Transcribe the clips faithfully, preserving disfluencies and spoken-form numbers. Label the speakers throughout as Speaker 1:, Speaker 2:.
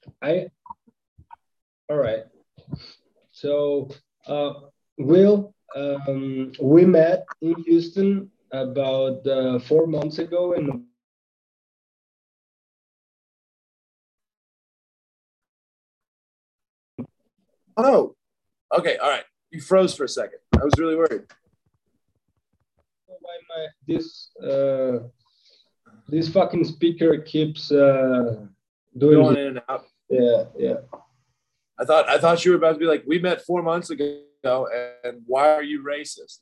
Speaker 1: I all right. So, uh, Will, um, we met in Houston about uh, four months ago, and
Speaker 2: Oh no. Okay, all right. You froze for a second. I was really worried.
Speaker 1: why my this uh, this fucking speaker keeps uh, doing
Speaker 2: Going
Speaker 1: his,
Speaker 2: in and out.
Speaker 1: yeah, yeah.
Speaker 2: I thought I thought you were about to be like, we met four months ago, and why are you racist?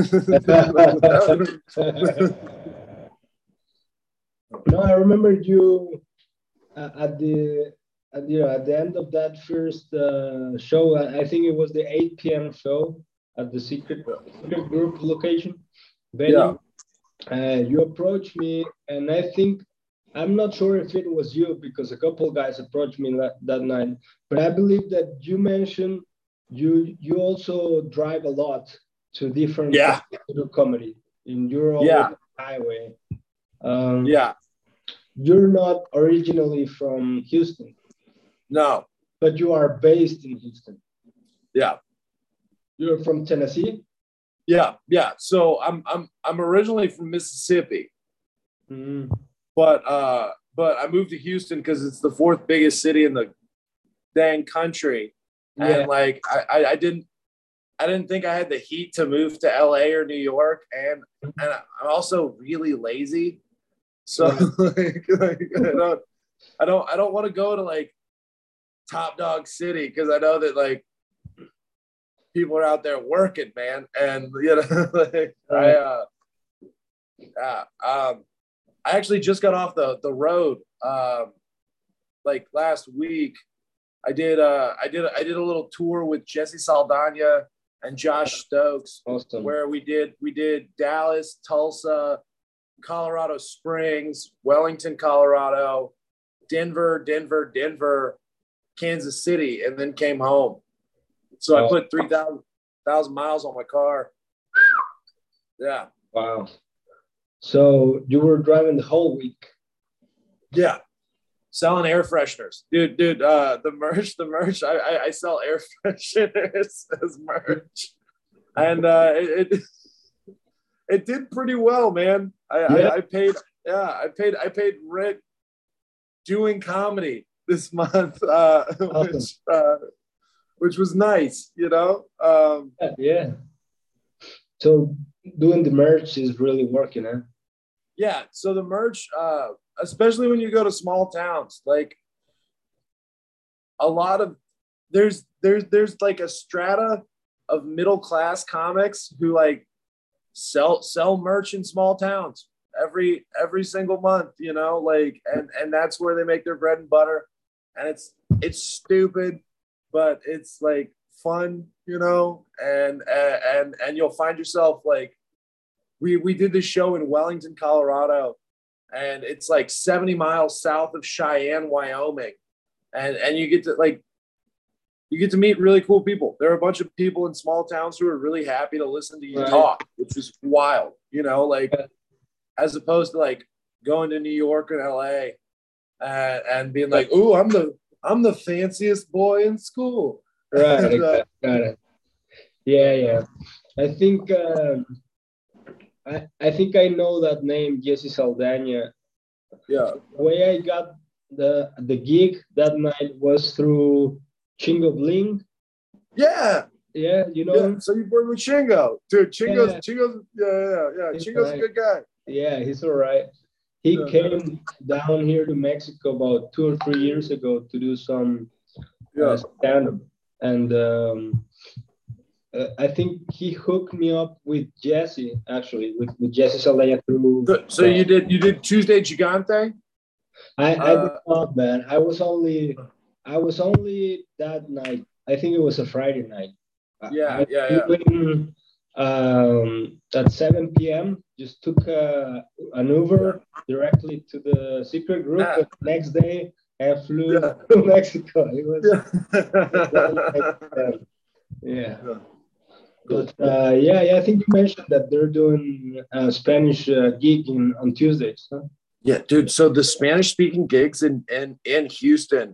Speaker 1: No, I remember you uh, at the at the, at the end of that first uh, show. I, I think it was the eight p m show at the secret secret group location
Speaker 2: Yeah.
Speaker 1: venue. Uh, you approached me, and I think I'm not sure if it was you because a couple guys approached me that, that night, but I believe that you mentioned you you also drive a lot to different
Speaker 2: Yeah.
Speaker 1: places to do comedy, and you're always
Speaker 2: Yeah.
Speaker 1: on the highway. Um,
Speaker 2: Yeah.
Speaker 1: you're not originally from Houston,
Speaker 2: No.
Speaker 1: but you are based in Houston.
Speaker 2: Yeah.
Speaker 1: You're from Tennessee.
Speaker 2: Yeah. Yeah. So I'm I'm I'm originally from Mississippi,
Speaker 1: Mm.
Speaker 2: but uh but I moved to Houston because it's the fourth biggest city in the dang country.
Speaker 1: Yeah,
Speaker 2: And like I, I, I didn't I didn't think I had the heat to move to L A or New York, and and I'm also really lazy. So
Speaker 1: right.
Speaker 2: like, like I don't I don't I don't want to go to like Top Dog City because I know that like people are out there working, man. And you know, like I
Speaker 1: Right.
Speaker 2: uh yeah, um I actually just got off the the road um like last week. I did uh I did I did a little tour with Jesse Saldana and Josh Stokes
Speaker 1: Awesome.
Speaker 2: where we did we did Dallas, Tulsa, Colorado Springs, Wellington, Colorado, Denver, Denver, Denver, Kansas City, and then came home. So I
Speaker 1: Oh,
Speaker 2: put three thousand miles on my car. Yeah.
Speaker 1: wow. So you were driving the whole week.
Speaker 2: Yeah. Selling air fresheners. Dude, dude, uh, the merch, the merch, I, I, I sell air fresheners as merch. And uh, it, it it did pretty well, man. I,
Speaker 1: Yeah.
Speaker 2: I, I paid, yeah, I paid, I paid rent doing comedy this month, uh,
Speaker 1: Awesome.
Speaker 2: which, uh, which was nice, you know. Um,
Speaker 1: Yeah. Yeah. So doing the merch is really working, huh?
Speaker 2: yeah. So the merch, uh, especially when you go to small towns, like a lot of there's there's there's like a strata of middle class comics who like sell sell merch in small towns every every single month, you know, like and and that's where they make their bread and butter. And it's it's stupid, but it's like fun, you know, and and and you'll find yourself like we we did this show in Wellington, Colorado, and it's like seventy miles south of Cheyenne, Wyoming. And and you get to like you get to meet really cool people. There are a bunch of people in small towns who are really happy to listen to you
Speaker 1: Right.
Speaker 2: talk, which is wild, you know, like as opposed to like going to New York or L A and, and being like, "Ooh, I'm the I'm the fanciest boy in school."
Speaker 1: Right.
Speaker 2: And, uh,
Speaker 1: Got got it. Yeah. Yeah. I think um, I I think I know that name, Jesse Saldana.
Speaker 2: yeah,
Speaker 1: The way I got the the gig that night was through Chingo Bling.
Speaker 2: yeah,
Speaker 1: Yeah, you know
Speaker 2: yeah.
Speaker 1: him?
Speaker 2: So you work with Chingo, dude. Chingo's
Speaker 1: Yeah,
Speaker 2: Chingo's yeah, yeah, yeah.
Speaker 1: he's
Speaker 2: Chingo's a
Speaker 1: nice.
Speaker 2: good guy.
Speaker 1: Yeah, he's all right. He
Speaker 2: Yeah, yeah,
Speaker 1: came down here to Mexico about two or three years ago to do some uh,
Speaker 2: yeah.
Speaker 1: stand up, and um, uh, I think he hooked me up with Jesse actually, with, with Jesse Saldana through.
Speaker 2: So, so you did you did Tuesday Gigante?
Speaker 1: I I did
Speaker 2: Uh,
Speaker 1: not, man. I was only I was only that night. I think it was a Friday night. I,
Speaker 2: yeah,
Speaker 1: I
Speaker 2: yeah,
Speaker 1: flew
Speaker 2: yeah.
Speaker 1: in um, at seven p m. Just took a, an
Speaker 2: Yeah.
Speaker 1: Uber directly to the secret group.
Speaker 2: Ah,
Speaker 1: And next day, I flew
Speaker 2: yeah.
Speaker 1: to Mexico. It was
Speaker 2: Yeah.
Speaker 1: that night. um, yeah.
Speaker 2: Yeah. Cool.
Speaker 1: But uh, yeah, yeah, I think you mentioned that they're doing a Spanish uh, gig in, on Tuesdays. Huh?
Speaker 2: Yeah, dude. So the Spanish speaking gigs in, in in Houston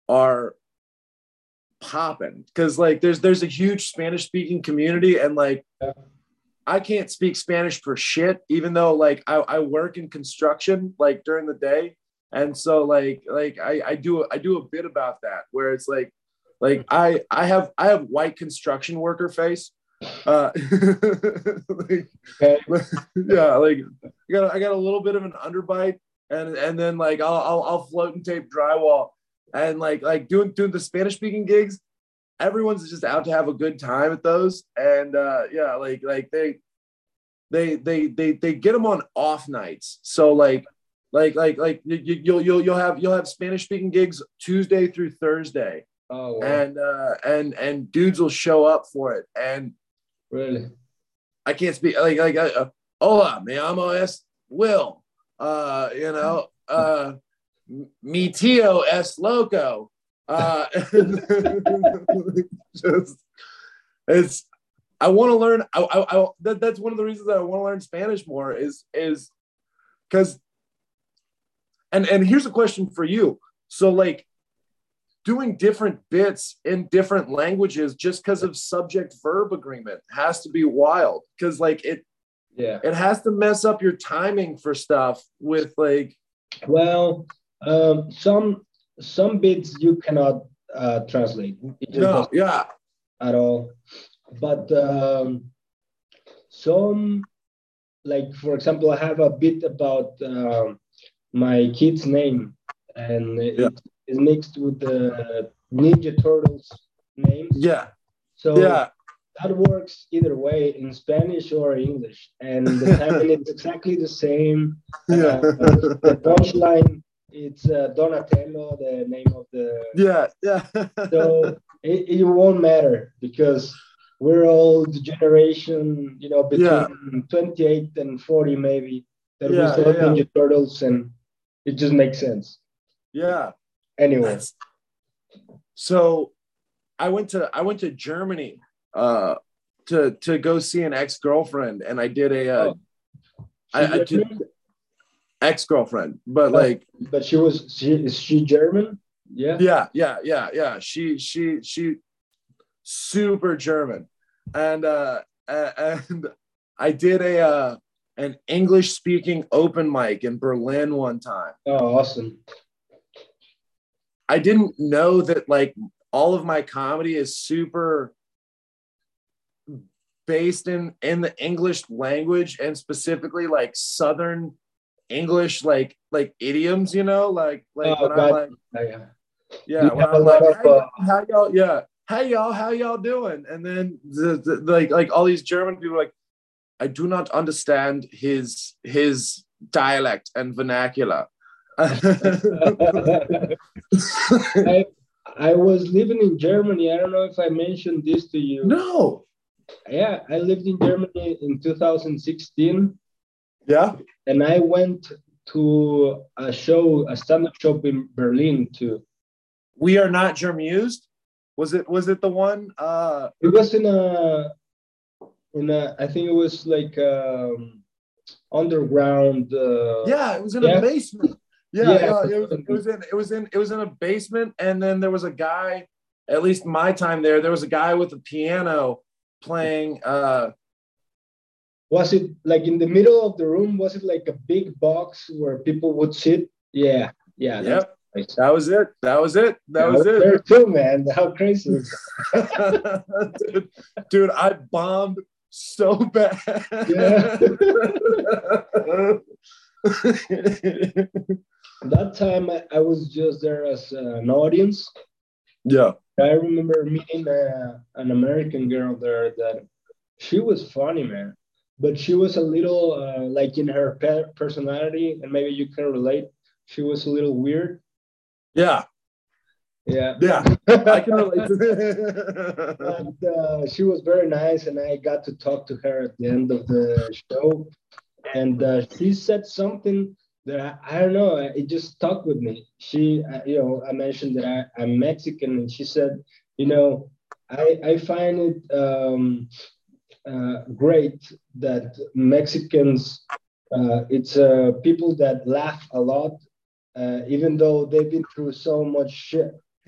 Speaker 2: are popping because like there's there's a huge Spanish speaking community, and like I can't speak Spanish for shit, even though like I, I work in construction like during the day. And so like like I, I do I do a bit about that where it's like like I I have I have white construction worker face. Uh like,
Speaker 1: Okay.
Speaker 2: yeah, like I got I got a little bit of an underbite, and and then like I'll I'll, I'll float and tape drywall, and like like doing doing the Spanish speaking gigs. Everyone's just out to have a good time at those, and uh yeah, like like they they they they they get them on off nights. So like like like like you, you'll you'll you'll have you'll have Spanish speaking gigs Tuesday through Thursday.
Speaker 1: Oh, wow.
Speaker 2: And uh and and dudes will show up for it. And
Speaker 1: Really?
Speaker 2: I can't speak like like uh, hola, me llamo es Will. Uh, you know, uh, mi tío es loco. Uh, just it's. I want to learn. I, I, I that, that's one of the reasons that I want to learn Spanish more is is because. And and here's a question for you. So like, doing different bits in different languages just because of subject verb agreement has to be wild, because like it
Speaker 1: Yeah.
Speaker 2: it has to mess up your timing for stuff with like
Speaker 1: Well, um, some some bits you cannot uh, translate. It just
Speaker 2: no
Speaker 1: doesn't
Speaker 2: yeah
Speaker 1: at all. But um, some, like for example, I have a bit about um, my kid's name, and
Speaker 2: yeah
Speaker 1: it is mixed with the Ninja Turtles names.
Speaker 2: yeah
Speaker 1: So
Speaker 2: yeah
Speaker 1: that works either way in Spanish or English, and the timing is exactly the same.
Speaker 2: yeah
Speaker 1: Uh, the punchline, it's uh, Donatello, the name of the.
Speaker 2: yeah yeah
Speaker 1: So it, it won't matter because we're all the generation, you know, between
Speaker 2: yeah
Speaker 1: twenty-eight and forty maybe, that we
Speaker 2: yeah
Speaker 1: saw
Speaker 2: yeah
Speaker 1: Ninja Turtles, and it just makes sense.
Speaker 2: yeah
Speaker 1: Anyway,
Speaker 2: that's so I went to I went to Germany uh to to go see an ex-girlfriend, and I did a uh,
Speaker 1: oh,
Speaker 2: I,
Speaker 1: she
Speaker 2: I did
Speaker 1: German?
Speaker 2: ex-girlfriend, but
Speaker 1: Oh,
Speaker 2: like
Speaker 1: but she was she is she German? Yeah.
Speaker 2: yeah yeah yeah yeah she she she super German, and uh and I did a uh an English speaking open mic in Berlin one time.
Speaker 1: Oh, awesome.
Speaker 2: I didn't know that like all of my comedy is super based in in the English language, and specifically like Southern English, like like idioms, you know, like like
Speaker 1: Oh,
Speaker 2: when I'm
Speaker 1: God.
Speaker 2: like
Speaker 1: Yeah. Do
Speaker 2: yeah,
Speaker 1: you
Speaker 2: when
Speaker 1: have a
Speaker 2: I'm
Speaker 1: lot
Speaker 2: like
Speaker 1: of
Speaker 2: hey
Speaker 1: uh,
Speaker 2: y'all, how y'all yeah hey y'all how y'all doing, and then the, the, like like all these German people are like, I do not understand his his dialect and vernacular.
Speaker 1: I I was living in Germany. I don't know if I mentioned this to you.
Speaker 2: No.
Speaker 1: Yeah, I lived in Germany in two thousand sixteen,
Speaker 2: Yeah.
Speaker 1: and I went to a show, a stand-up show in Berlin too.
Speaker 2: We are not Germused. Was it was it the one? Uh
Speaker 1: It was in a in a I think it was like um underground. Uh,
Speaker 2: yeah, it was in a
Speaker 1: yeah,
Speaker 2: basement. Yeah,
Speaker 1: yeah,
Speaker 2: yeah, it was it was in it was in it was in a basement, and then there was a guy, at least my time there, there was a guy with a piano playing uh
Speaker 1: Was it like in the middle of the room? Was it like a big box where people would sit? Yeah, yeah, that's
Speaker 2: yep.
Speaker 1: nice.
Speaker 2: That was it. That was it. That
Speaker 1: Yeah, I
Speaker 2: was
Speaker 1: was
Speaker 2: it.
Speaker 1: there too, man. How crazy is
Speaker 2: dude, dude, I bombed so bad.
Speaker 1: Yeah. That time I, I was just there as uh, an audience.
Speaker 2: yeah.
Speaker 1: I remember meeting uh, an American girl there that she was funny, man. But she was a little uh, like in her pe- personality, and maybe you can relate. She was a little weird.
Speaker 2: Yeah.
Speaker 1: Yeah.
Speaker 2: Yeah. I can relate to
Speaker 1: But uh, she was very nice, and I got to talk to her at the end of the show. And uh, she said something that I, I don't know, it just stuck with me. She, uh, you know, I mentioned that I, I'm Mexican, and she said, you know, I, I find it um, uh, great that Mexicans, uh, it's uh, people that laugh a lot, uh, even though they've been through so much shit.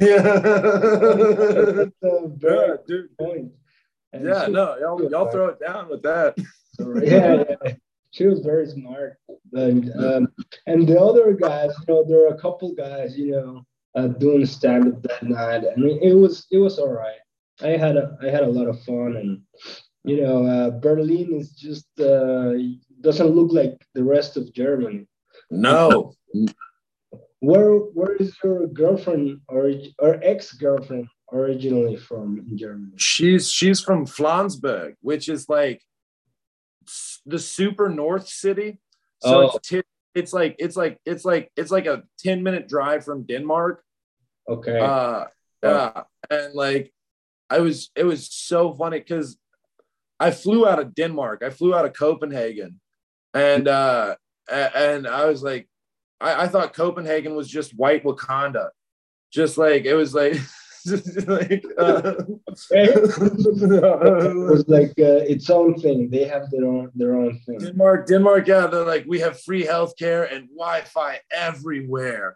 Speaker 2: Yeah.
Speaker 1: That's a very
Speaker 2: Yeah,
Speaker 1: good
Speaker 2: dude.
Speaker 1: point. And
Speaker 2: Yeah,
Speaker 1: she,
Speaker 2: no, y'all, y'all throw it down with that.
Speaker 1: yeah, yeah, she was very smart. And um, and the other guys, you know, there are a couple guys, you know, uh, doing stand up that night, and it, it was it was all right. I had a I had a lot of fun, and you know, uh, Berlin is just uh, doesn't look like the rest of Germany.
Speaker 2: No.
Speaker 1: Where where is your girlfriend or or ex girlfriend originally from in Germany?
Speaker 2: She's she's from Flansburg, which is like the super north city. So it's
Speaker 1: Oh,
Speaker 2: t- it's like it's like it's like it's like a ten minute drive from Denmark.
Speaker 1: okay.
Speaker 2: Uh
Speaker 1: Wow.
Speaker 2: yeah. And like I was it was so funny because I flew out of Denmark. I flew out of Copenhagen. And uh and I was like, I, I thought Copenhagen was just white Wakanda. Just like it was like just like uh,
Speaker 1: Okay. It was like uh, its own thing. They have their own their own thing.
Speaker 2: Denmark, Denmark, yeah, they're like, we have free healthcare and Wi-Fi everywhere.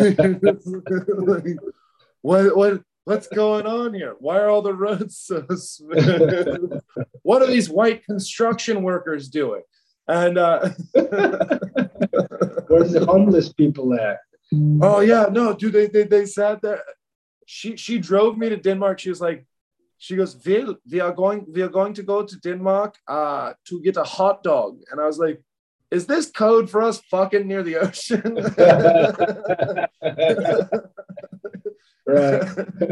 Speaker 2: Like, what what what's going on here? Why are all the roads so smooth? What are these white construction workers doing? And uh
Speaker 1: Where's the homeless people at?
Speaker 2: oh yeah, no, dude, they they they sat there. She she drove me to Denmark. She was like, she goes, Vil, we are going, we are going to go to Denmark uh to get a hot dog. And I was like, is this code for us fucking near the ocean?
Speaker 1: Right.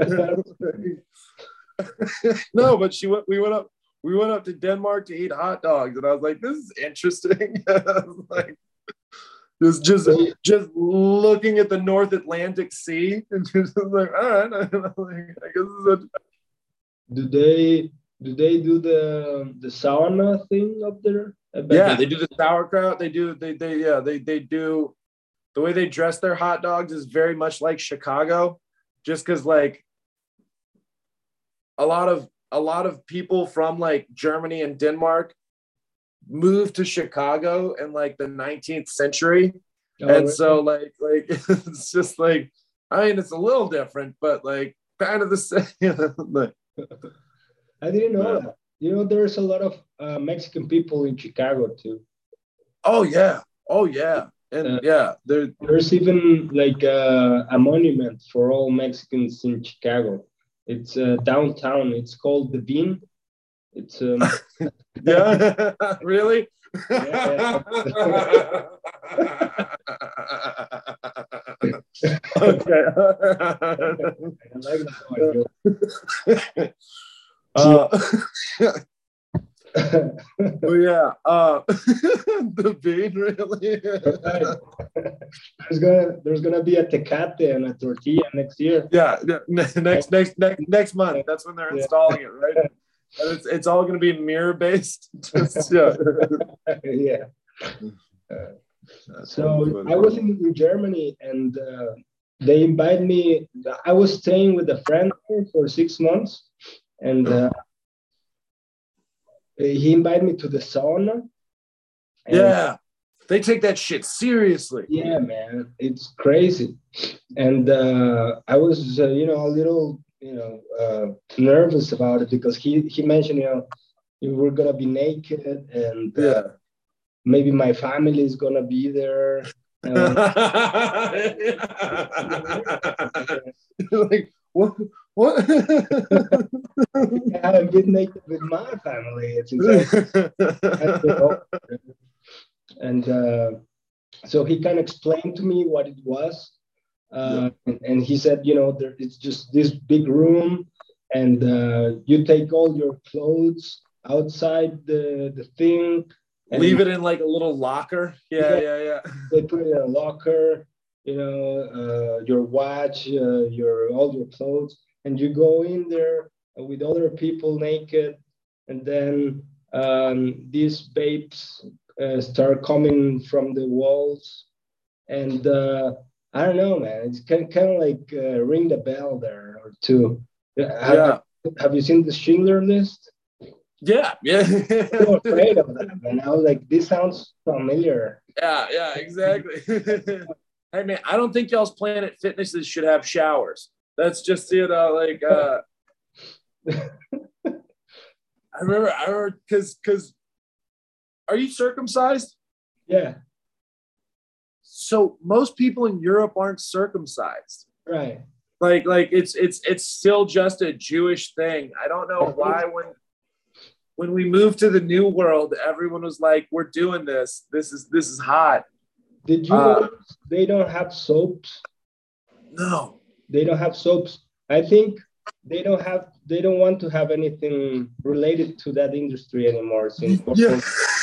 Speaker 2: No, but she went, we went up, we went up to Denmark to eat hot dogs. And I was like, this is interesting. I was like, just just just looking at the North Atlantic Sea and just like, all right, I guess this is a
Speaker 1: Do they do they do the the sauna thing up there? I bet
Speaker 2: yeah,
Speaker 1: they.
Speaker 2: they do the sauerkraut. They do they they yeah they they do the way they dress their hot dogs is very much like Chicago, just because like a lot of a lot of people from like Germany and Denmark moved to Chicago in like the nineteenth century,
Speaker 1: Oh,
Speaker 2: and
Speaker 1: really?
Speaker 2: so like like it's just like I mean it's a little different, but like kind of the same. Like,
Speaker 1: I didn't know
Speaker 2: yeah.
Speaker 1: that. You know, there's a lot of uh, Mexican people in Chicago too.
Speaker 2: Oh yeah, oh yeah, and
Speaker 1: Uh,
Speaker 2: yeah, there.
Speaker 1: there's even like uh, a monument for all Mexicans in Chicago. It's uh, downtown. It's called the Bean. It's um
Speaker 2: Yeah, really?
Speaker 1: yeah,
Speaker 2: Okay.
Speaker 1: I like that one.
Speaker 2: uh, but yeah, uh, the bean really.
Speaker 1: Right. There's gonna there's gonna be a Tecate and a tortilla next year.
Speaker 2: Yeah, yeah, next next next next month. That's when they're
Speaker 1: Yeah.
Speaker 2: installing it, right? And it's it's all going to be mirror based. Just yeah.
Speaker 1: Yeah. Uh, so I was in, in Germany and uh, they invited me. I was staying with a friend for six months, and uh, he invited me to the sauna. And
Speaker 2: Yeah, they take that shit seriously.
Speaker 1: yeah, man, it's crazy. And uh, I was, uh, you know, a little, you know, uh, nervous about it because he he mentioned, you know, we're gonna be naked and uh,
Speaker 2: Yeah.
Speaker 1: maybe my family is gonna be there. Uh,
Speaker 2: Like what? What?
Speaker 1: I haven't been naked with my family since I was, and uh, so he kind of explained to me what it was,
Speaker 2: Yeah.
Speaker 1: uh, and, and he said, you know, there, it's just this big room, and uh, you take all your clothes outside the the thing,
Speaker 2: Leave
Speaker 1: and
Speaker 2: it in like a little locker. Yeah,
Speaker 1: yeah,
Speaker 2: yeah, yeah.
Speaker 1: they put it in a locker, you know, uh, your watch, uh, your all your clothes, and you go in there with other people naked, and then um, these babes uh, start coming from the walls, and uh, I don't know, man, it's kind kind of like uh, ring the bell there or two. Have,
Speaker 2: Yeah.
Speaker 1: have you seen the Schindler List?
Speaker 2: Yeah. Yeah.
Speaker 1: So afraid of that, man. I was like, this sounds familiar.
Speaker 2: Yeah, yeah, exactly. Hey man, I don't think y'all's Planet Fitnesses should have showers. That's just, you know, like uh I remember I remember because because are you circumcised?
Speaker 1: Yeah,
Speaker 2: So most people in Europe aren't circumcised.
Speaker 1: right.
Speaker 2: Like like it's it's it's still just a Jewish thing. I don't
Speaker 1: I
Speaker 2: know
Speaker 1: think,
Speaker 2: why when when we moved to the new world, everyone was like, "We're doing this. This is this is hot."
Speaker 1: did you
Speaker 2: Uh,
Speaker 1: know they don't have soaps?
Speaker 2: no.
Speaker 1: They don't have soaps. I think they don't have they don't want to have anything related to that industry anymore since
Speaker 2: Yeah.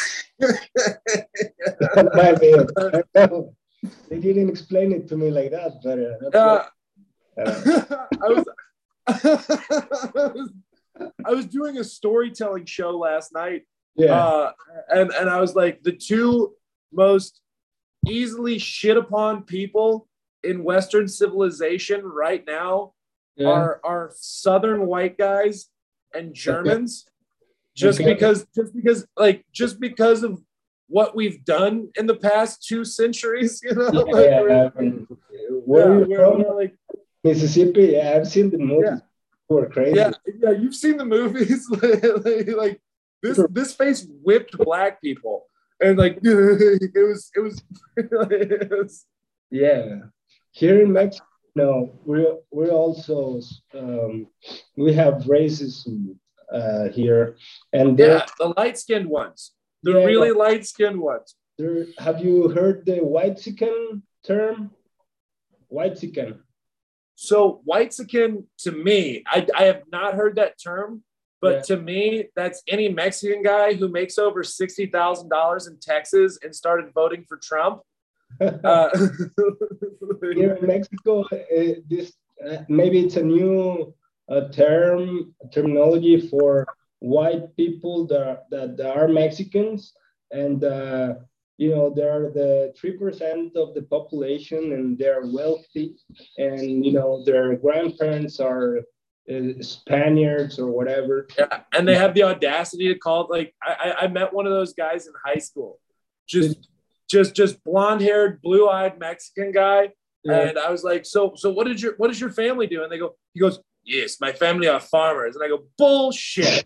Speaker 1: my bad. I know. They didn't explain it to me like that, but uh, that's what
Speaker 2: Uh,
Speaker 1: uh,
Speaker 2: I was I was I was doing a storytelling show last night,
Speaker 1: yeah.
Speaker 2: uh, and and I was like, the two most easily shit upon people in Western civilization right now
Speaker 1: Yeah.
Speaker 2: are are Southern white guys and
Speaker 1: Okay.
Speaker 2: Germans, just
Speaker 1: Okay.
Speaker 2: because just because like just because of what we've done in the past two centuries, you know,
Speaker 1: Yeah,
Speaker 2: like
Speaker 1: yeah.
Speaker 2: we're,
Speaker 1: I mean, where are
Speaker 2: yeah,
Speaker 1: you
Speaker 2: we're,
Speaker 1: from?
Speaker 2: we're like
Speaker 1: Mississippi. Yeah, I've seen the
Speaker 2: yeah.
Speaker 1: movies. Were
Speaker 2: Yeah,
Speaker 1: crazy.
Speaker 2: yeah, you've seen the movies. like, like this, this face whipped black people, and like it was, it was, it was.
Speaker 1: Yeah. Here in Mexico, no, we're we're also um, we have racism uh, here, and there,
Speaker 2: Yeah, the light skinned ones, the
Speaker 1: yeah, yeah.
Speaker 2: really light skinned ones.
Speaker 1: There, have you heard the white chicken term? White chicken.
Speaker 2: So whitezican to me, I, I have not heard that term,
Speaker 1: Yeah.
Speaker 2: but to me, that's any Mexican guy who makes over sixty thousand dollars in Texas and started voting for Trump. Uh,
Speaker 1: Here in Mexico, uh, this uh, maybe it's a new uh, term terminology for white people that that are Mexicans, and uh, you know they're the three percent of the population, and they're wealthy, and you know their grandparents are uh, Spaniards or whatever.
Speaker 2: Yeah, and they have the audacity to call it like I, I met one of those guys in high school, just
Speaker 1: Did-
Speaker 2: just just blonde haired, blue eyed Mexican guy,
Speaker 1: yeah.
Speaker 2: and I was like, so so what did your what does your family do? And they go, he goes, yes, my family are farmers, and I go, bullshit.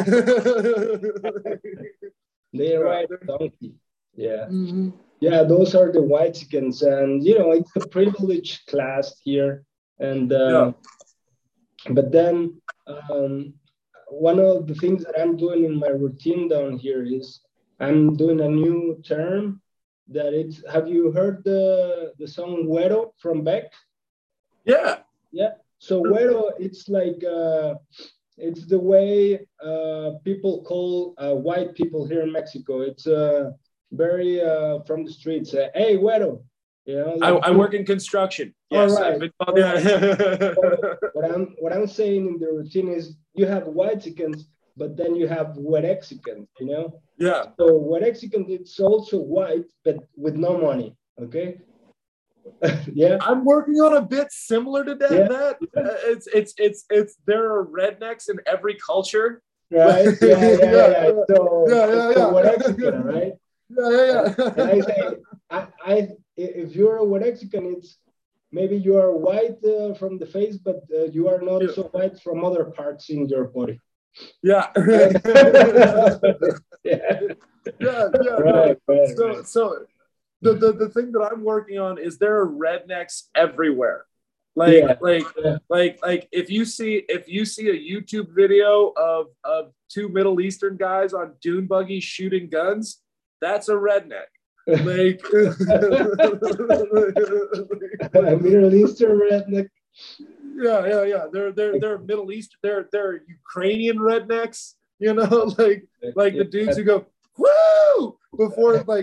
Speaker 1: They're
Speaker 2: Yeah,
Speaker 1: right, donkey. Yeah.
Speaker 2: mhm.
Speaker 1: Yeah, those are the white chickens, and you know it's a privileged class here. And
Speaker 2: Yeah,
Speaker 1: uh, but then um, one of the things that I'm doing in my routine down here is I'm doing a new term that it's. Have you heard the the song "Güero" from Beck?
Speaker 2: yeah,
Speaker 1: Yeah. So "Güero" it's like uh, it's the way uh, people call uh, white people here in Mexico. It's uh, very uh, from the streets. Uh, hey, güero, you know,
Speaker 2: I,
Speaker 1: like
Speaker 2: I work in construction.
Speaker 1: all
Speaker 2: Yes, I've
Speaker 1: right.
Speaker 2: been
Speaker 1: All
Speaker 2: called.
Speaker 1: right.
Speaker 2: Yeah.
Speaker 1: So what I'm what I'm saying in the routine is you have white chickens, but then you have Wexicans, you know.
Speaker 2: Yeah,
Speaker 1: So Wexicans it's also white, but with no money. Okay. Yeah.
Speaker 2: I'm working on a bit similar to that.
Speaker 1: Yeah.
Speaker 2: That
Speaker 1: Yeah.
Speaker 2: Uh, it's it's it's it's there are rednecks in every culture.
Speaker 1: Right. Yeah. Yeah. Yeah. Yeah.
Speaker 2: yeah,
Speaker 1: So
Speaker 2: yeah,
Speaker 1: it's
Speaker 2: yeah,
Speaker 1: a
Speaker 2: yeah,
Speaker 1: Wexican, right?
Speaker 2: yeah,
Speaker 1: And,
Speaker 2: yeah,
Speaker 1: and I
Speaker 2: yeah.
Speaker 1: say, I, I, if you're a Wexican, it's maybe you are white uh, from the face, but uh, you are not
Speaker 2: yeah,
Speaker 1: so white from other parts in your body.
Speaker 2: yeah,
Speaker 1: Right? Yeah.
Speaker 2: yeah, yeah. No.
Speaker 1: Right, right,
Speaker 2: So
Speaker 1: right.
Speaker 2: so the, the the thing that I'm working on is there are rednecks everywhere. Like
Speaker 1: Yeah.
Speaker 2: like
Speaker 1: Yeah.
Speaker 2: like like if you see if you see a YouTube video of of two Middle Eastern guys on dune buggies shooting guns, that's a redneck. Like
Speaker 1: Middle Eastern redneck.
Speaker 2: yeah, yeah, yeah. They're they're they're Middle East. They're they're Ukrainian rednecks. You know, like like
Speaker 1: Yeah.
Speaker 2: the dudes who go woo before like.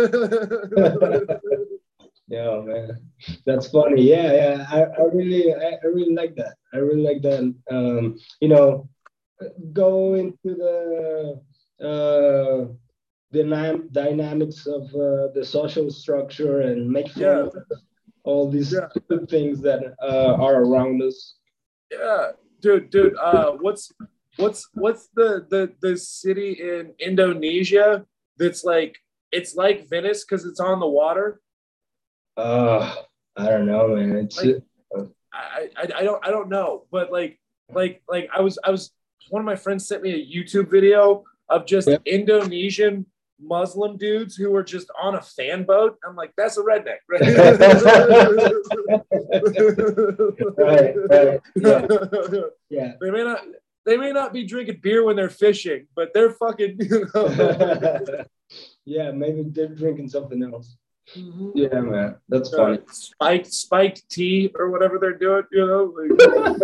Speaker 1: Yeah, man, that's funny. Yeah, yeah. I, I really, I, I really like that. I really like that. Um, you know, go into the uh, the dynamics of uh, the social structure and make fun
Speaker 2: Yeah,
Speaker 1: of all these
Speaker 2: yeah,
Speaker 1: stupid things that uh, are around us.
Speaker 2: yeah, dude, dude. Uh, what's what's what's the the the city in Indonesia that's like it's like Venice because it's on the water.
Speaker 1: Uh, I don't know, man. It's
Speaker 2: Like
Speaker 1: uh,
Speaker 2: I, I I don't I don't know, but like like like I was I was one of my friends sent me a YouTube video of just
Speaker 1: Yep.
Speaker 2: Indonesian Muslim dudes who were just on a fan boat. I'm like, that's a redneck, right?
Speaker 1: Right, right. Yeah, yeah.
Speaker 2: They may not they may not be drinking beer when they're fishing, but they're fucking, you know.
Speaker 1: Yeah, maybe they're drinking something else.
Speaker 2: Mm-hmm.
Speaker 1: Yeah, man, that's
Speaker 2: Uh,
Speaker 1: funny.
Speaker 2: spiked spiked tea or whatever they're doing, you know. Like,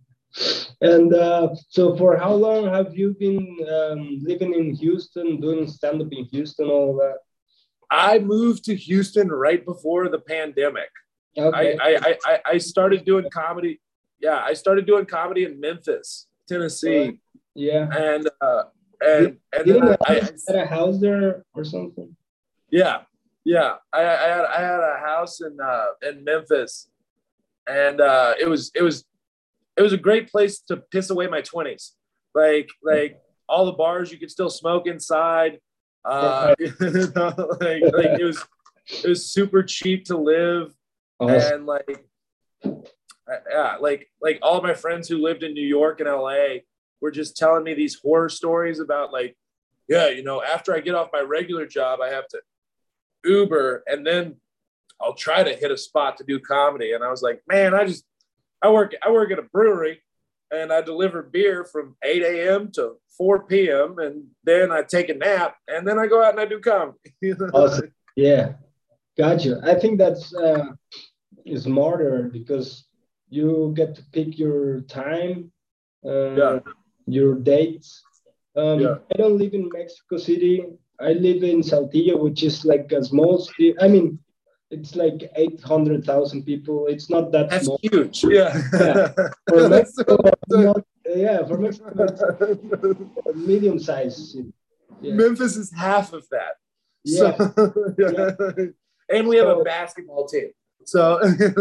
Speaker 1: And uh, so, for how long have you been um, living in Houston, doing stand up in Houston, all that?
Speaker 2: I moved to Houston right before the pandemic.
Speaker 1: Okay.
Speaker 2: I, I, I, I started doing comedy. Yeah, I started doing comedy in Memphis, Tennessee,
Speaker 1: Yeah.
Speaker 2: and uh, and
Speaker 1: Did,
Speaker 2: and
Speaker 1: didn't
Speaker 2: then
Speaker 1: you
Speaker 2: I, I,
Speaker 1: had a house there or something?
Speaker 2: yeah, yeah, I, I had I had a house in uh, in Memphis, and uh, it was it was it was a great place to piss away my twenties. Like like all the bars you could still smoke inside. Uh, you know, like like it was it was super cheap to live.
Speaker 1: Awesome.
Speaker 2: And like, yeah, like like all of my friends who lived in New York and L A were just telling me these horror stories about like, yeah, you know, after I get off my regular job, I have to Uber and then I'll try to hit a spot to do comedy. And I was like, man, I just I work I work at a brewery and I deliver beer from eight a.m. to four p.m. and then I take a nap and then I go out and I do comedy.
Speaker 1: Awesome. Yeah, gotcha. I think that's uh, smarter because you get to pick your time, uh,
Speaker 2: Yeah.
Speaker 1: your dates. Um,
Speaker 2: Yeah.
Speaker 1: I don't live in Mexico City. I live in Saltillo, which is like a small city. I mean, it's like eight hundred thousand people. It's not that
Speaker 2: That's
Speaker 1: small.
Speaker 2: huge. Yeah.
Speaker 1: Yeah. For
Speaker 2: That's
Speaker 1: Mexico,
Speaker 2: so-
Speaker 1: not, yeah, for Mexico, it's a medium sized city. Yeah.
Speaker 2: Memphis is half of that.
Speaker 1: Yeah.
Speaker 2: So, yeah. And we have a
Speaker 1: So-
Speaker 2: basketball team. So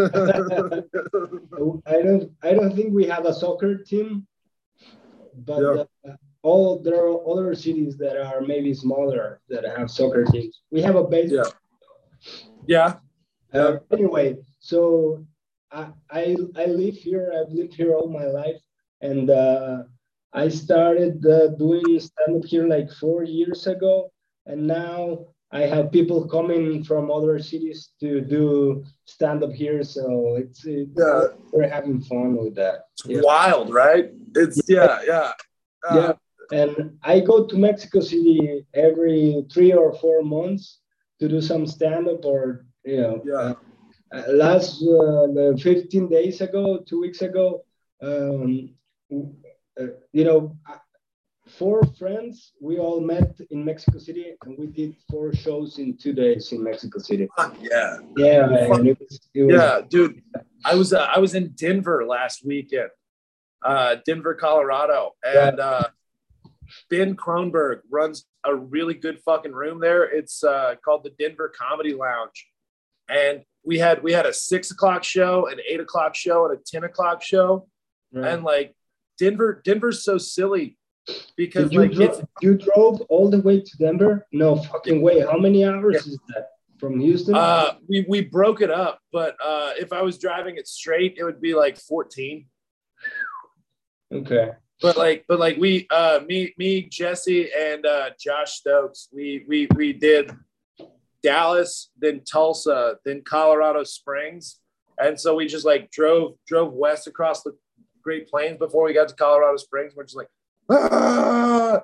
Speaker 1: I don't I don't think we have a soccer team, but
Speaker 2: Yeah.
Speaker 1: uh, all there are other cities that are maybe smaller that have soccer teams. We have a baseball.
Speaker 2: yeah. Yeah.
Speaker 1: Uh, anyway, so I, I I live here. I've lived here all my life, and uh, I started uh, doing stand up here like four years ago, and now I have people coming from other cities to do stand up here. So it's, it,
Speaker 2: Yeah.
Speaker 1: we're having fun with that. Yeah.
Speaker 2: Wild, right? It's yeah, yeah. Uh,
Speaker 1: Yeah. And I go to Mexico City every three or four months to do some stand up or, you know,
Speaker 2: Yeah.
Speaker 1: uh, uh, last uh, the fifteen days ago, two weeks ago, um, uh, you know, uh, four friends, we all met in Mexico City and we did four shows in two days in Mexico City.
Speaker 2: Fuck yeah.
Speaker 1: Yeah, man. It was, it was,
Speaker 2: Yeah, dude. I was uh, I was in Denver last weekend. Uh, Denver, Colorado. And uh, Ben Kronberg runs a really good fucking room there. It's uh, called the Denver Comedy Lounge. And we had we had a six o'clock show, an eight o'clock show, and a ten o'clock show.
Speaker 1: right.
Speaker 2: And like Denver, Denver's so silly because
Speaker 1: Did you,
Speaker 2: like
Speaker 1: dro-
Speaker 2: it's
Speaker 1: you drove all the way to Denver? No fucking way. How many hours is that from Houston?
Speaker 2: uh we we broke it up, but uh if I was driving it straight, it would be like fourteen.
Speaker 1: Okay.
Speaker 2: But like but like we uh me me Jesse and uh Josh Stokes, we we we did Dallas, then Tulsa, then Colorado Springs. And so we just like drove drove west across the Great Plains before we got to Colorado Springs. We're just like, ah!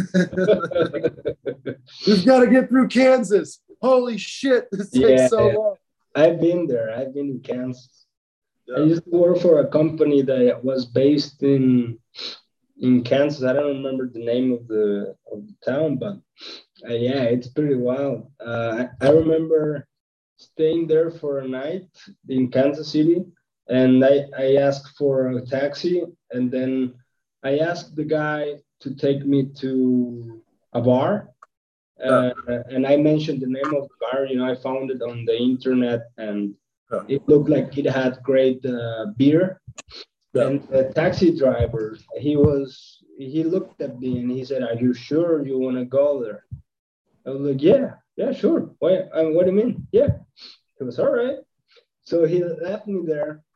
Speaker 2: We've got to get through Kansas. Holy shit, this takes
Speaker 1: Yeah.
Speaker 2: so long.
Speaker 1: I've been there. I've been in Kansas. I
Speaker 2: Yeah.
Speaker 1: used to work for a company that was based in in Kansas. I don't remember the name of the of the town, but uh, yeah, it's pretty wild. Uh, I, I remember staying there for a night in Kansas City, and I, I asked for a taxi, and then I asked the guy to take me to a bar. Uh, and I mentioned the name of the bar. You know, I found it on the internet, and
Speaker 2: Yeah.
Speaker 1: it looked like it had great uh, beer.
Speaker 2: Yeah.
Speaker 1: And the taxi driver, he was, he looked at me and he said, "Are you sure you want to go there?" I was like, "Yeah, yeah, sure. Why? Um, what do you mean? Yeah." He was all right. So he left me there,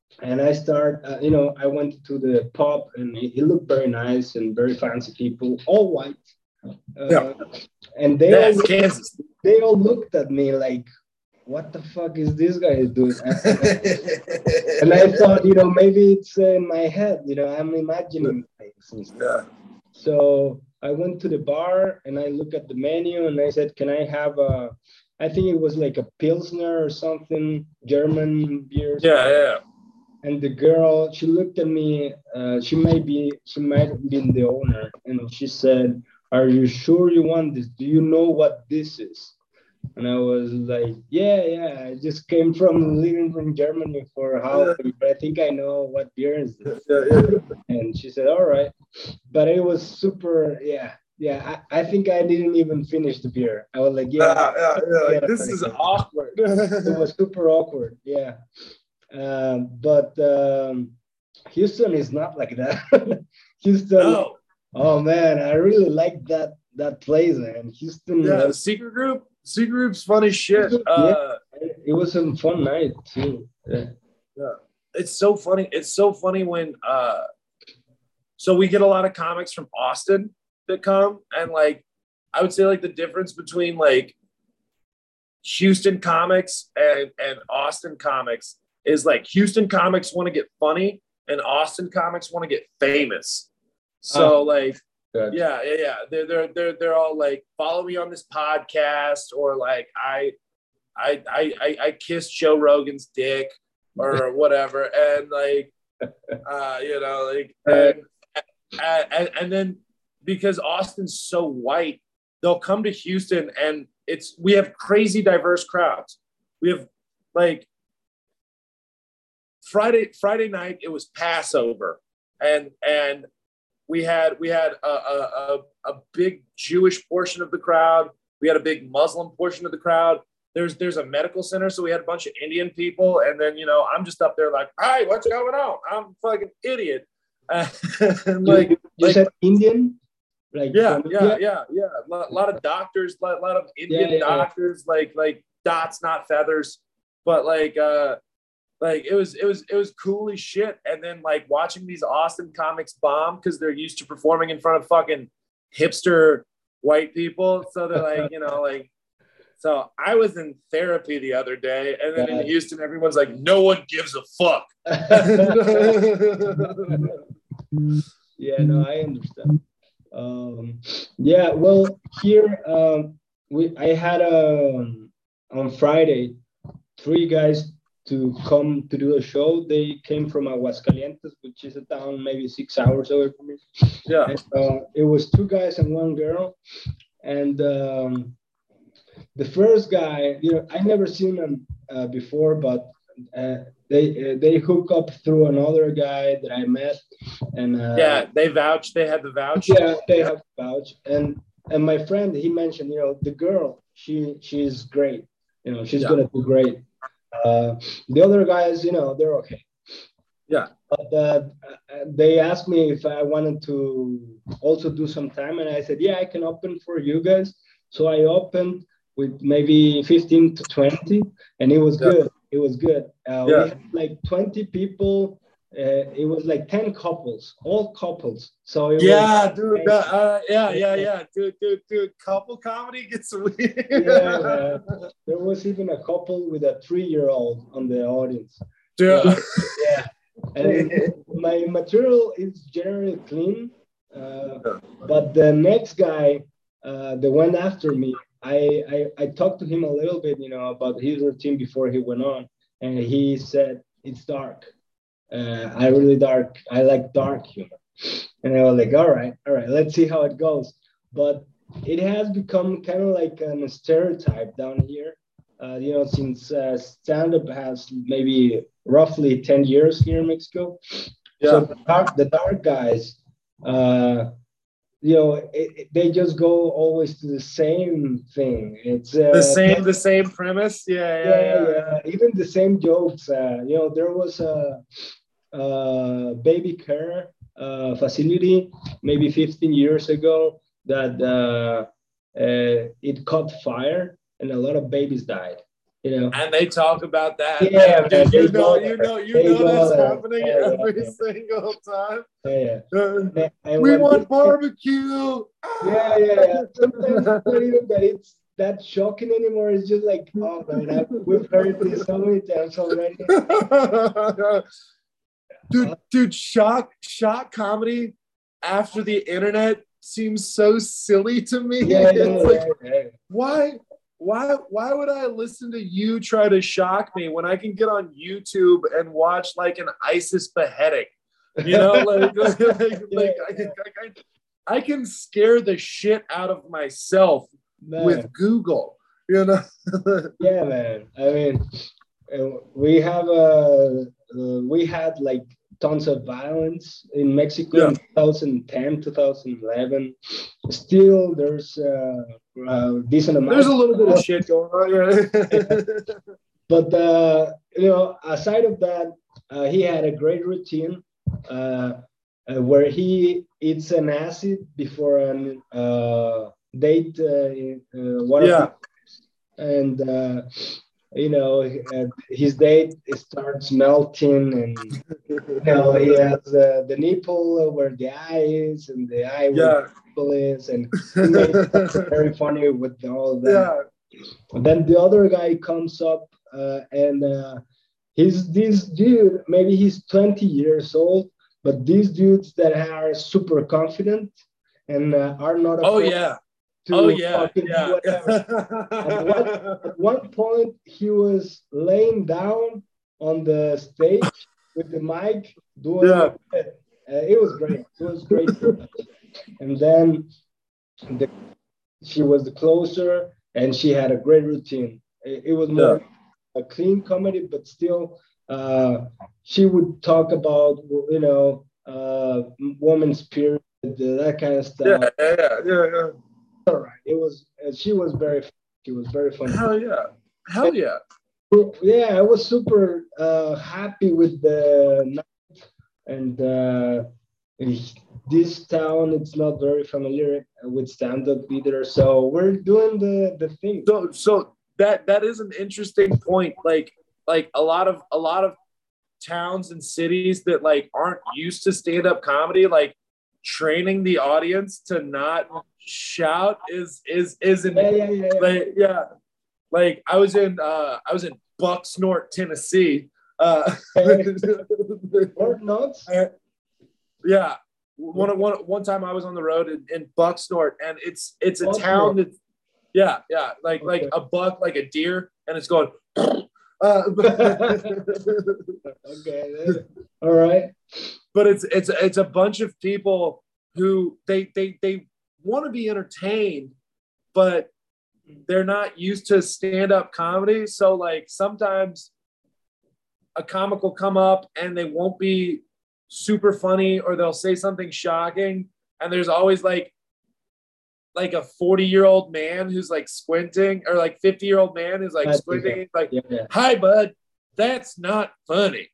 Speaker 1: and I start, uh, you know, I went to the pub and it, it looked very nice and very fancy people, all white.
Speaker 2: Yeah.
Speaker 1: Uh, and they all
Speaker 2: That's Kansas.
Speaker 1: they all looked at me like, what the fuck is this guy doing? And, and I thought, you know, maybe it's uh, in my head, you know, I'm imagining things and stuff.
Speaker 2: Yeah.
Speaker 1: So I went to the bar and I looked at the menu and I said, can I have a, I think it was like a Pilsner or something, German beer.
Speaker 2: Yeah, yeah.
Speaker 1: And the girl, she looked at me, uh, she might be, she might have been the owner. And she said, are you sure you want this? Do you know what this is? And I was like, yeah, yeah, I just came from living in Germany for how, but I think I know what beer is this.
Speaker 2: Yeah, yeah.
Speaker 1: And she said, all right. But it was super, yeah, yeah. I, I think I didn't even finish the beer. I was like, yeah,
Speaker 2: Yeah, yeah, yeah. Like,
Speaker 1: yeah,
Speaker 2: this is
Speaker 1: like,
Speaker 2: awkward.
Speaker 1: it was super awkward, yeah. Um, but um, Houston is not like that. Houston,
Speaker 2: No.
Speaker 1: oh man, I really like that that place, man. Houston,
Speaker 2: Yeah,
Speaker 1: uh,
Speaker 2: Secret Group. Secret Group's funny shit.
Speaker 1: yeah,
Speaker 2: Uh,
Speaker 1: it was a fun night too. Yeah.
Speaker 2: yeah. It's so funny. It's so funny when uh so we get a lot of comics from Austin that come, and like I would say like the difference between like Houston comics and and Austin comics is like Houston comics want to get funny and Austin comics want to get famous. So
Speaker 1: Oh,
Speaker 2: like
Speaker 1: good.
Speaker 2: yeah, yeah, yeah. They're they're they're they're all like follow me on this podcast, or like I I I I, I kissed Joe Rogan's dick or whatever, and like uh you know like and, and and then because Austin's so white, they'll come to Houston and it's we have crazy diverse crowds. We have like Friday Friday night it was Passover, and and we had we had a, a, a, a big Jewish portion of the crowd. We had a big Muslim portion of the crowd. There's there's a medical center, so we had a bunch of Indian people, and then you know I'm just up there like, hi, what's going on? I'm a fucking idiot. Uh, like
Speaker 1: you, you
Speaker 2: like
Speaker 1: said Indian, like
Speaker 2: yeah,
Speaker 1: from
Speaker 2: yeah,
Speaker 1: India?
Speaker 2: yeah, yeah. A lot, lot of doctors, a lot, lot of Indian
Speaker 1: Yeah, yeah, yeah.
Speaker 2: doctors, like like dots, not feathers. But like uh like it was it was it was cool as shit. And then like watching these Austin comics bomb because they're used to performing in front of fucking hipster white people. So they're like, you know, like so I was in therapy the other day, and then in
Speaker 1: Yes.
Speaker 2: Houston, everyone's like, no one gives a fuck.
Speaker 1: Yeah, no, I understand. Um, yeah, well, here um, we I had um, on Friday three guys to come to do a show. They came from Aguascalientes, which is a town maybe six hours away from me.
Speaker 2: Yeah.
Speaker 1: And, uh, it was two guys and one girl, and um, the first guy, you know, I never seen him uh, before, but uh, they uh, they hook up through another guy that I met, and uh,
Speaker 2: Yeah, they vouched. They had the vouch.
Speaker 1: yeah, they have vouch, and and my friend he mentioned, you know, the girl, she she's great, you know, she's
Speaker 2: Yeah.
Speaker 1: gonna do great. Uh, the other guys, you know, they're okay.
Speaker 2: Yeah.
Speaker 1: But uh, they asked me if I wanted to also do some time, and I said, yeah, I can open for you guys. So I opened with maybe fifteen to twenty, and it was
Speaker 2: Yeah.
Speaker 1: good. It was good. Uh,
Speaker 2: Yeah.
Speaker 1: We had like twenty people. Uh, it was like ten couples, all couples. So it
Speaker 2: Yeah,
Speaker 1: was,
Speaker 2: dude. that- uh, yeah, yeah, yeah, dude, dude, dude. Couple comedy gets weird.
Speaker 1: yeah, man. There was even a couple with a three-year-old on the audience.
Speaker 2: Dude.
Speaker 1: Yeah, yeah. And my material is generally clean, uh, but the next guy, uh, the one after me, I, I I talked to him a little bit, you know, about his routine before he went on, and he said it's dark. Uh, I really dark. I like dark humor, and I was like, all right, all right, let's see how it goes. But it has become kind of like a stereotype down here. Uh, you know, since uh, stand-up has maybe roughly ten years here in Mexico.
Speaker 2: Yeah.
Speaker 1: So the dark, the dark guys, uh, you know, it, it- they just go always to the same thing. It's uh,
Speaker 2: The same, the same premise. Yeah, yeah,
Speaker 1: yeah,
Speaker 2: yeah.
Speaker 1: yeah. Even the same jokes. Uh, you know, there was a, a baby care uh, facility maybe fifteen years ago that uh, uh, it caught fire and a lot of babies died. you know.
Speaker 2: And they talk about that.
Speaker 1: Yeah,
Speaker 2: And
Speaker 1: man,
Speaker 2: dude, you
Speaker 1: they
Speaker 2: know,
Speaker 1: go
Speaker 2: you
Speaker 1: there.
Speaker 2: know, you
Speaker 1: They
Speaker 2: know
Speaker 1: go
Speaker 2: that's
Speaker 1: there.
Speaker 2: happening
Speaker 1: Yeah, yeah,
Speaker 2: every
Speaker 1: yeah.
Speaker 2: single time.
Speaker 1: Yeah, yeah.
Speaker 2: Uh,
Speaker 1: And, and
Speaker 2: we
Speaker 1: when
Speaker 2: want
Speaker 1: this,
Speaker 2: barbecue.
Speaker 1: yeah, yeah, yeah. Sometimes it's not even that it's that shocking anymore. It's just like, oh man, I, we've heard this so many times already.
Speaker 2: dude, dude, shock, shock comedy after the internet seems so silly to me.
Speaker 1: Yeah, yeah,
Speaker 2: It's
Speaker 1: yeah,
Speaker 2: like,
Speaker 1: yeah.
Speaker 2: why, why, why would I listen to you try to shock me when I can get on YouTube and watch like an ISIS beheading? You know, like, like, like,
Speaker 1: Yeah,
Speaker 2: like I, I, I can scare the shit out of myself
Speaker 1: man.
Speaker 2: with Google. You know.
Speaker 1: Yeah, man. I mean, uh, we have a uh, we had like tons of violence in Mexico
Speaker 2: Yeah.
Speaker 1: in twenty ten, twenty eleven. Still, there's uh, a decent amount.
Speaker 2: There's a little bit of shit going on. Yeah.
Speaker 1: But uh, you know, aside of that, uh, he had a great routine uh, uh, where he eats an acid before an uh, date. Uh, uh, one
Speaker 2: Yeah.
Speaker 1: of the, and uh, you know, uh, his date starts melting, and you know, he has uh, the nipple where the eye is, and the eye where
Speaker 2: Yeah.
Speaker 1: the nipple is, and he made something very funny with all that.
Speaker 2: Yeah.
Speaker 1: Then the other guy comes up, uh, and uh, he's this dude. Maybe he's twenty years old, but these dudes that are super confident and uh, are not
Speaker 2: Oh
Speaker 1: afraid
Speaker 2: yeah.
Speaker 1: to
Speaker 2: Oh yeah.
Speaker 1: fucking do
Speaker 2: Yeah.
Speaker 1: whatever. At one, at one point, he was laying down on the stage with the mic doing
Speaker 2: Yeah.
Speaker 1: it. Uh, it was great. It was great. And then the, she was the closer, and she had a great routine. It, it was more
Speaker 2: Yeah.
Speaker 1: a clean comedy, but still, uh, she would talk about you know uh, woman's period, that kind of
Speaker 2: Yeah.
Speaker 1: stuff.
Speaker 2: Yeah. Yeah. Yeah.
Speaker 1: All right, it was. Uh, she was very. She was very funny.
Speaker 2: Hell yeah. Hell yeah.
Speaker 1: Yeah, I was super uh, happy with the night, and uh, this town it's not very familiar with stand-up either, so we're doing the the thing.
Speaker 2: So so that that is an interesting point. Like like a lot of a lot of towns and cities that like aren't used to stand-up comedy, like training the audience to not shout is is isn't
Speaker 1: Yeah, yeah, yeah, yeah.
Speaker 2: like yeah. Like I was in uh I was in Bucksnort, Tennessee. Uh
Speaker 1: Or not?
Speaker 2: yeah. One, one, one time I was on the road in, in Bucksnort, and it's it's a
Speaker 1: Bucksnort.
Speaker 2: town that yeah, yeah, like
Speaker 1: Okay.
Speaker 2: like a buck, like a deer, and it's going uh,
Speaker 1: Okay. All right.
Speaker 2: but it's it's it's a bunch of people who they they they want to be entertained, but they're not used to stand-up comedy. So like sometimes a comic will come up and they won't be super funny, or they'll say something shocking, and there's always like like a forty year old man who's like squinting, or like fifty year old man who's like
Speaker 1: I think
Speaker 2: squinting, like,
Speaker 1: Yeah, yeah.
Speaker 2: hi bud, that's not funny.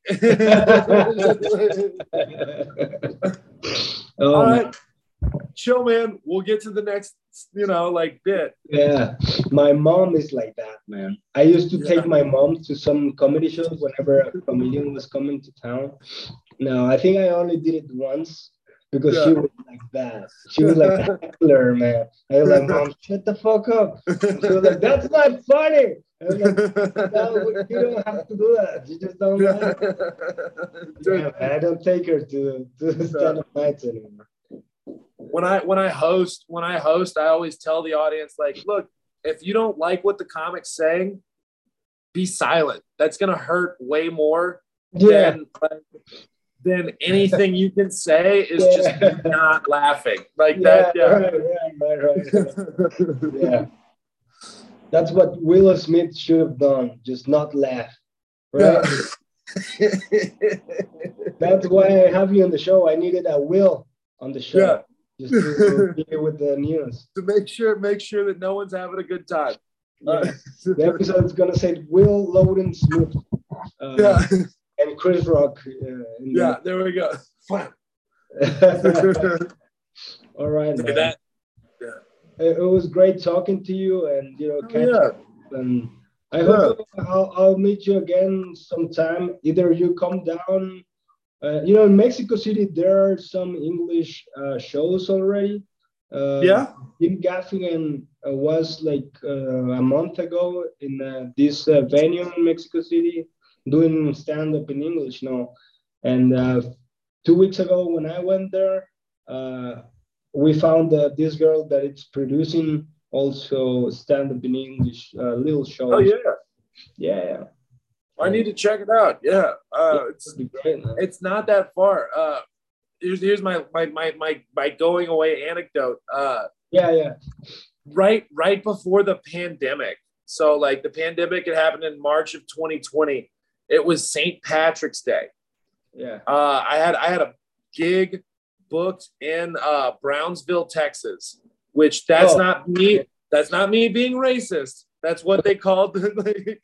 Speaker 1: Oh,
Speaker 2: All
Speaker 1: man.
Speaker 2: right, chill, man. We'll get to the next, you know, like bit.
Speaker 1: Yeah, my mom is like that, man. I used to
Speaker 2: Yeah.
Speaker 1: take my mom to some comedy shows whenever a comedian was coming to town. No, I think I only did it once because she
Speaker 2: Yeah.
Speaker 1: was like that. She was like a heckler, man. I was like, Mom, shut the fuck up. And she was like, that's not funny. I was like, no, you don't have to do that. You just don't like it. Yeah, man, I don't take her to, to stand-up nights anymore.
Speaker 2: when I when I host when I host, I always tell the audience, like, look, if you don't like what the comic's saying, be silent. That's gonna hurt way more
Speaker 1: Yeah.
Speaker 2: than than anything you can say is
Speaker 1: Yeah.
Speaker 2: just not laughing. Like
Speaker 1: Yeah,
Speaker 2: that. Yeah.
Speaker 1: right, right, right, right. Yeah. That's what Will Smith should have done, just not laugh. Right?
Speaker 2: Yeah.
Speaker 1: That's why I have you on the show. I needed a Will on the show.
Speaker 2: Yeah.
Speaker 1: Just to deal with the news.
Speaker 2: To make sure make sure that no one's having a good time.
Speaker 1: Yeah.
Speaker 2: Uh,
Speaker 1: The episode is gonna say Will Loden Smith. Uh,
Speaker 2: yeah.
Speaker 1: And Chris Rock. Uh, in
Speaker 2: Yeah, there we go.
Speaker 1: the- All right, man.
Speaker 2: That,
Speaker 1: It, it was great talking to you, and you know,
Speaker 2: oh,
Speaker 1: catch
Speaker 2: yeah.
Speaker 1: up, and I hope I'll, I'll meet you again sometime. Either you come down, uh, you know, in Mexico City, there are some English uh, shows already. Uh,
Speaker 2: Yeah.
Speaker 1: Jim Gaffigan uh, was like uh, a month ago in uh, this uh, venue in Mexico City doing stand up in English now. And uh, two weeks ago, when I went there, uh, we found uh, this girl that it's producing also stand up in English uh, little
Speaker 2: Oh
Speaker 1: shows.
Speaker 2: yeah.
Speaker 1: Yeah, yeah.
Speaker 2: I need to check it out. Yeah. Uh,
Speaker 1: Yeah,
Speaker 2: it's
Speaker 1: that'd be great, man.
Speaker 2: it's not that far. Uh, here's here's my my my my my going away anecdote. Uh,
Speaker 1: Yeah, yeah.
Speaker 2: right right before the pandemic. So like the pandemic had happened in March of twenty twenty. It was Saint Patrick's Day.
Speaker 1: Yeah.
Speaker 2: Uh, I had I had a gig booked in uh, Brownsville, Texas, which that's
Speaker 1: Oh.
Speaker 2: not me. That's not me being racist. That's what they called. Like,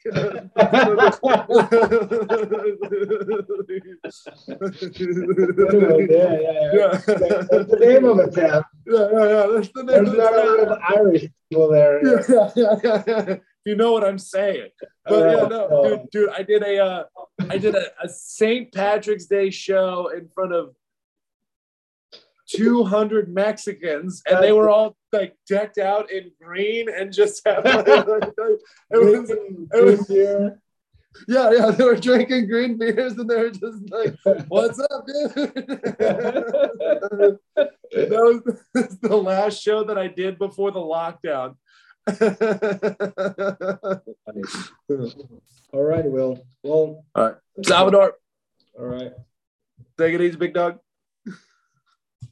Speaker 1: Anyway, yeah, yeah, yeah.
Speaker 2: yeah.
Speaker 1: That's the name of it, Sam.
Speaker 2: Yeah, yeah, yeah. That's the name
Speaker 1: There's
Speaker 2: of
Speaker 1: not a lot
Speaker 2: it.
Speaker 1: of Irish people there.
Speaker 2: Yeah, yeah, yeah, yeah, yeah. You know what I'm saying. But yeah, no,
Speaker 1: Uh,
Speaker 2: dude, dude, I did a, uh, I did a, a Saint Patrick's Day show in front of two hundred Mexicans, and they were all like decked out in green and just had like, like, it was, it was,
Speaker 1: here.
Speaker 2: yeah, yeah, they were drinking green beers and they were just like, "What's up, dude?" That was the last show that I did before the lockdown.
Speaker 1: All right, Will. Well,
Speaker 2: All right, Salvador,
Speaker 1: all right.
Speaker 2: take it easy, big dog.